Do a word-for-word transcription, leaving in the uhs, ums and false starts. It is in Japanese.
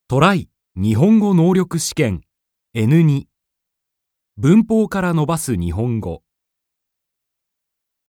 トライ日本語能力試験 エヌに 文法から伸ばす日本語